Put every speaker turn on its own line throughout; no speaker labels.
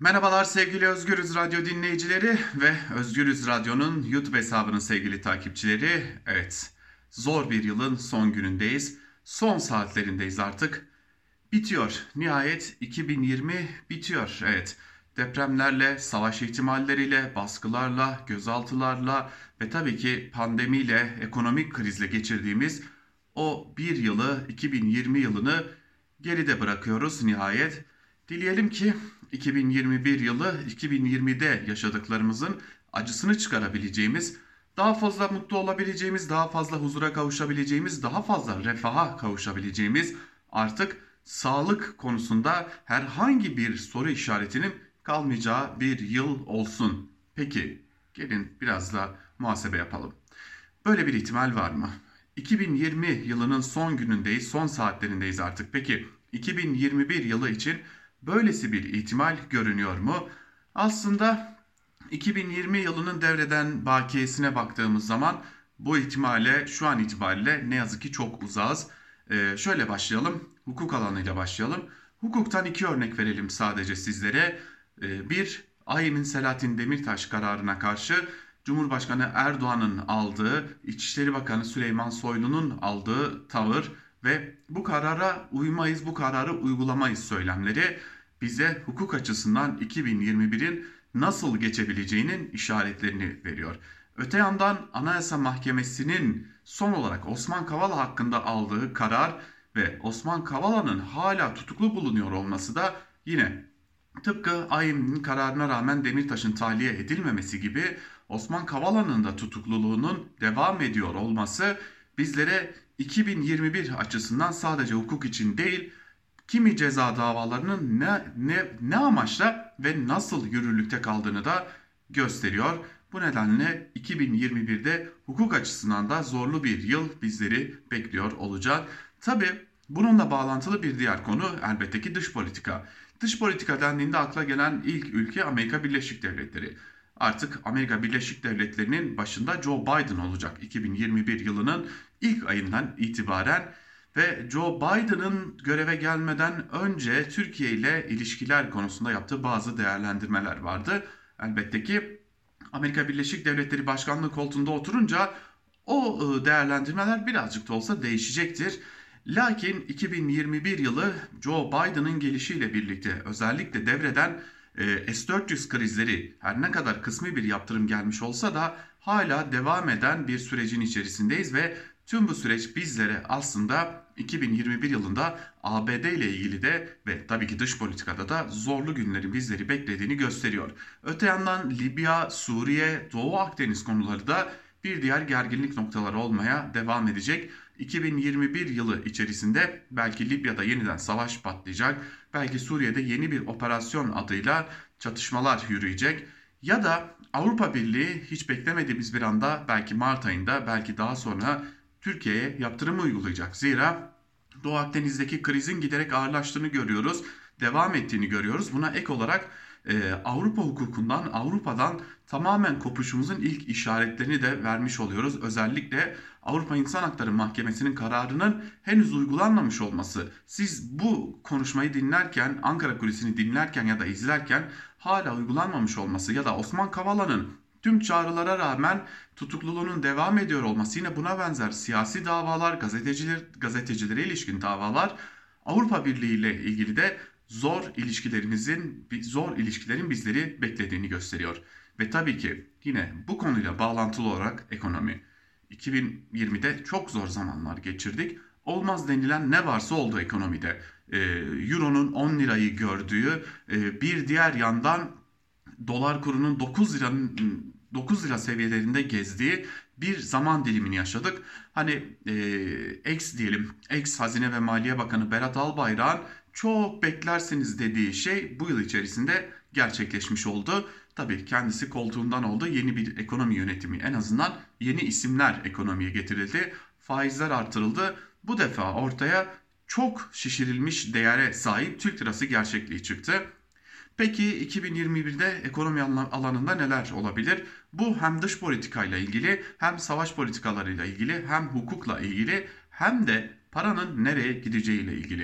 Merhabalar sevgili Özgürüz Radyo dinleyicileri ve Özgürüz Radyo'nun YouTube hesabının sevgili takipçileri. Evet, zor bir yılın son günündeyiz. Son saatlerindeyiz artık. Bitiyor. Nihayet 2020 bitiyor. Evet, depremlerle, savaş ihtimalleriyle, baskılarla, gözaltılarla ve tabii ki pandemiyle, ekonomik krizle geçirdiğimiz o bir yılı, 2020 yılını geride bırakıyoruz nihayet. Dileyelim ki 2021 yılı 2020'de yaşadıklarımızın acısını çıkarabileceğimiz, daha fazla mutlu olabileceğimiz, daha fazla huzura kavuşabileceğimiz, daha fazla refaha kavuşabileceğimiz, artık sağlık konusunda herhangi bir soru işaretinin kalmayacağı bir yıl olsun. Peki, gelin biraz da muhasebe yapalım. Böyle bir ihtimal var mı? 2020 yılının son günündeyiz, son saatlerindeyiz artık. Peki 2021 yılı için böylesi bir ihtimal görünüyor mu? Aslında 2020 yılının devreden bakiyesine baktığımız zaman bu ihtimale şu an itibariyle ne yazık ki çok uzağız. Şöyle başlayalım, hukuk alanıyla başlayalım. Hukuktan iki örnek verelim sadece sizlere. Bir, AİM'in Selahattin Demirtaş kararına karşı Cumhurbaşkanı Erdoğan'ın aldığı, İçişleri Bakanı Süleyman Soylu'nun aldığı tavır ve bu karara uymayız, bu kararı uygulamayız söylemleri bize hukuk açısından 2021'in nasıl geçebileceğinin işaretlerini veriyor. Öte yandan Anayasa Mahkemesi'nin son olarak Osman Kavala hakkında aldığı karar ve Osman Kavala'nın hala tutuklu bulunuyor olması da yine tıpkı AİM'in kararına rağmen Demirtaş'ın tahliye edilmemesi gibi Osman Kavala'nın da tutukluluğunun devam ediyor olması bizlere 2021 açısından sadece hukuk için değil, kimi ceza davalarının ne amaçla ve nasıl yürürlükte kaldığını da gösteriyor. Bu nedenle 2021'de hukuk açısından da zorlu bir yıl bizleri bekliyor olacak. Tabi bununla bağlantılı bir diğer konu elbette ki dış politika. Dış politika dendiğinde akla gelen ilk ülke Amerika Birleşik Devletleri. Artık Amerika Birleşik Devletleri'nin başında Joe Biden olacak 2021 yılının ilk ayından itibaren. Ve Joe Biden'ın göreve gelmeden önce Türkiye ile ilişkiler konusunda yaptığı bazı değerlendirmeler vardı. Elbette ki Amerika Birleşik Devletleri Başkanlığı koltuğunda oturunca o değerlendirmeler birazcık da olsa değişecektir. Lakin 2021 yılı Joe Biden'ın gelişiyle birlikte özellikle devreden S-400 krizleri her ne kadar kısmi bir yaptırım gelmiş olsa da hala devam eden bir sürecin içerisindeyiz ve tüm bu süreç bizlere aslında 2021 yılında ABD ile ilgili de ve tabii ki dış politikada da zorlu günlerin bizleri beklediğini gösteriyor. Öte yandan Libya, Suriye, Doğu Akdeniz konuları da bir diğer gerginlik noktaları olmaya devam edecek. 2021 yılı içerisinde belki Libya'da yeniden savaş patlayacak, belki Suriye'de yeni bir operasyon adıyla çatışmalar yürüyecek. Ya da Avrupa Birliği hiç beklemediğimiz bir anda belki Mart ayında belki daha sonra Türkiye'ye yaptırım uygulayacak. Zira Doğu Akdeniz'deki krizin giderek ağırlaştığını görüyoruz, devam ettiğini görüyoruz. Buna ek olarak Avrupa hukukundan, Avrupa'dan tamamen kopuşumuzun ilk işaretlerini de vermiş oluyoruz. Özellikle Avrupa İnsan Hakları Mahkemesi'nin kararının henüz uygulanmamış olması. Siz bu konuşmayı dinlerken, Ankara Kulisi'ni dinlerken ya da izlerken hala uygulanmamış olması ya da Osman Kavala'nın tüm çağrılara rağmen tutukluluğunun devam ediyor olması, yine buna benzer siyasi davalar, gazetecilere ilişkin davalar, Avrupa Birliği ile ilgili de zor ilişkilerin bizleri beklediğini gösteriyor. Ve tabii ki yine bu konuyla bağlantılı olarak ekonomi. 2020'de çok zor zamanlar geçirdik. Olmaz denilen ne varsa oldu ekonomide. Euro'nun 10 lirayı gördüğü, bir diğer yandan dolar kurunun 9 lira seviyelerinde gezdiği bir zaman dilimini yaşadık. Hani ex Hazine ve Maliye Bakanı Berat Albayrak'ın çok beklersiniz dediği şey bu yıl içerisinde gerçekleşmiş oldu. Tabii kendisi koltuğundan oldu. Yeni bir ekonomi yönetimi, en azından yeni isimler ekonomiye getirildi. Faizler artırıldı. Bu defa ortaya çok şişirilmiş değere sahip Türk lirası gerçekliği çıktı. Peki 2021'de ekonomi alanında neler olabilir? Bu hem dış politikayla ilgili, hem savaş politikalarıyla ilgili, hem hukukla ilgili, hem de paranın nereye gideceğiyle ilgili.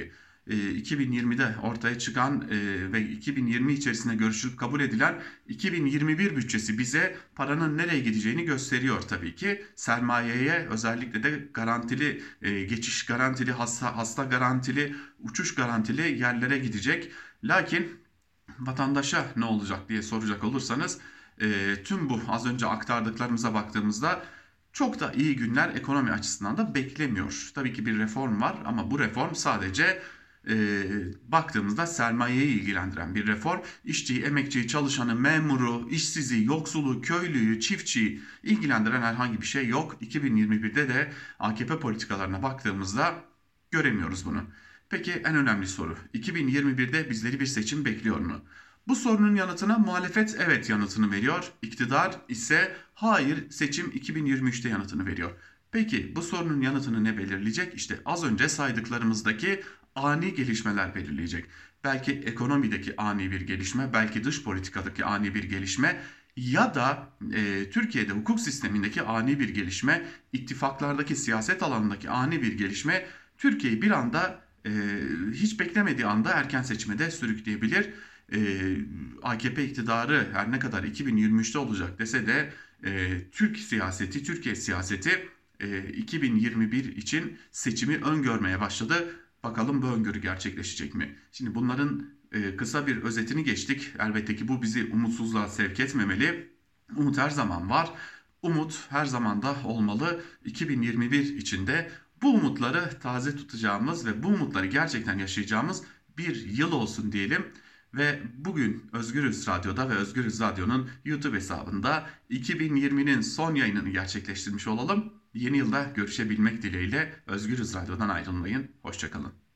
2020'de ortaya çıkan ve 2020 içerisinde görüşülüp kabul edilen 2021 bütçesi bize paranın nereye gideceğini gösteriyor tabii ki. Sermayeye, özellikle de garantili geçiş garantili, hasta garantili, uçuş garantili yerlere gidecek. Lakin vatandaşa ne olacak diye soracak olursanız tüm bu az önce aktardıklarımıza baktığımızda çok da iyi günler ekonomi açısından da beklemiyor. Tabii ki bir reform var ama bu reform sadece baktığımızda sermayeyi ilgilendiren bir reform. İşçiyi, emekçiyi, çalışanı, memuru, işsizi, yoksulu, köylüyü, çiftçiyi ilgilendiren herhangi bir şey yok. 2021'de de AKP politikalarına baktığımızda göremiyoruz bunu. Peki en önemli soru, 2021'de bizleri bir seçim bekliyor mu? Bu sorunun yanıtına muhalefet evet yanıtını veriyor. İktidar ise hayır, seçim 2023'te yanıtını veriyor. Peki bu sorunun yanıtını ne belirleyecek? İşte az önce saydıklarımızdaki ani gelişmeler belirleyecek. Belki ekonomideki ani bir gelişme, belki dış politikadaki ani bir gelişme ya da Türkiye'de hukuk sistemindeki ani bir gelişme, ittifaklardaki siyaset alanındaki ani bir gelişme Türkiye'yi bir anda hiç beklemediği anda erken seçime de sürükleyebilir. AKP iktidarı her ne kadar 2023'te olacak dese de Türkiye siyaseti 2021 için seçimi öngörmeye başladı. Bakalım bu öngörü gerçekleşecek mi? Şimdi bunların kısa bir özetini geçtik. Elbette ki bu bizi umutsuzluğa sevk etmemeli. Umut her zaman var. Umut her zaman da olmalı. 2021 içinde bu umutları taze tutacağımız ve bu umutları gerçekten yaşayacağımız bir yıl olsun diyelim. Ve bugün Özgürüz Radyo'da ve Özgürüz Radyo'nun YouTube hesabında 2020'nin son yayınını gerçekleştirmiş olalım. Yeni yılda görüşebilmek dileğiyle Özgürüz Radyo'dan ayrılmayın. Hoşça kalın.